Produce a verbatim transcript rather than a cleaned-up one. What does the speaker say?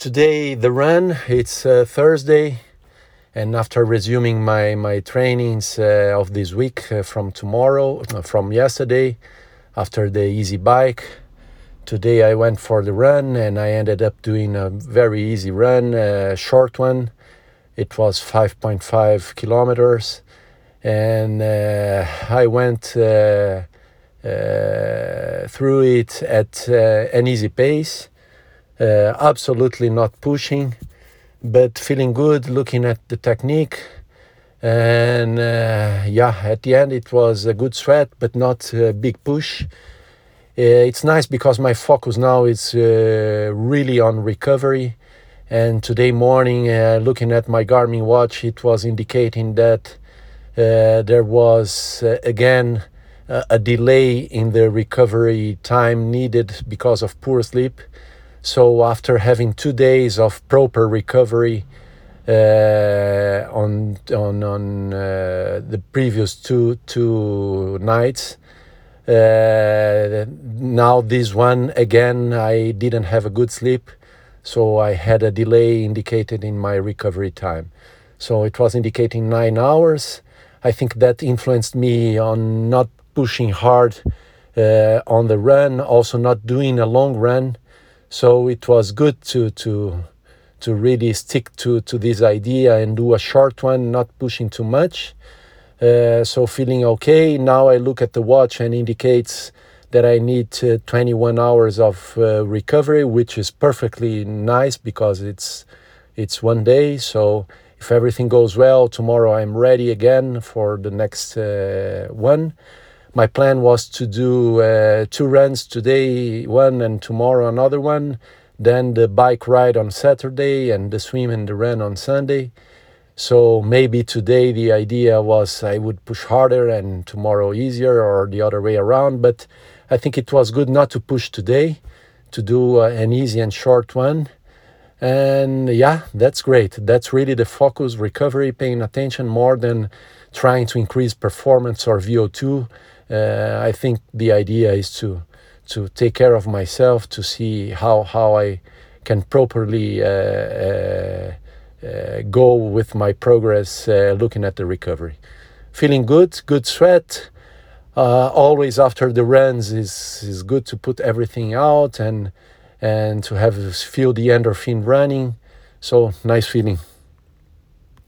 Today the run, it's uh, Thursday, and after resuming my, my trainings uh, of this week uh, from tomorrow, uh, from yesterday, after the easy bike, today I went for the run and I ended up doing a very easy run, a short one. It was five point five kilometers, and uh, I went uh, uh, through it at uh, an easy pace. Uh, absolutely not pushing, but feeling good, looking at the technique. And uh, yeah, at the end it was a good sweat, but not a big push. Uh, it's nice because my focus now is uh, really on recovery. And today morning, uh, looking at my Garmin watch, it was indicating that uh, there was uh, again uh, a delay in the recovery time needed because of poor sleep. So after having two days of proper recovery uh, on on on uh, the previous two two nights, uh, now this one again I didn't have a good sleep, so I had a delay indicated in my recovery time. So it was indicating nine hours. I think that influenced me on not pushing hard uh, on the run, also not doing a long run. So it was good to to to really stick to, to this idea and do a short one, not pushing too much. Uh, so feeling okay. Now I look at the watch and indicates that I need uh, twenty-one hours of uh, recovery, which is perfectly nice because it's it's one day. So if everything goes well, tomorrow I'm ready again for the next uh, one. My plan was to do uh, two runs today, one, and tomorrow another one. Then the bike ride on Saturday and the swim and the run on Sunday. So maybe today the idea was I would push harder and tomorrow easier, or the other way around. But I think it was good not to push today, to do uh, an easy and short one. And yeah, that's great. That's really the focus, recovery, paying attention more than trying to increase performance or V O two. Uh, I think the idea is to to take care of myself, to see how how I can properly uh, uh, uh, go with my progress, uh, looking at the recovery. Feeling good, good sweat. Uh, always after the runs is is good to put everything out and and to have feel the endorphin running. So nice feeling.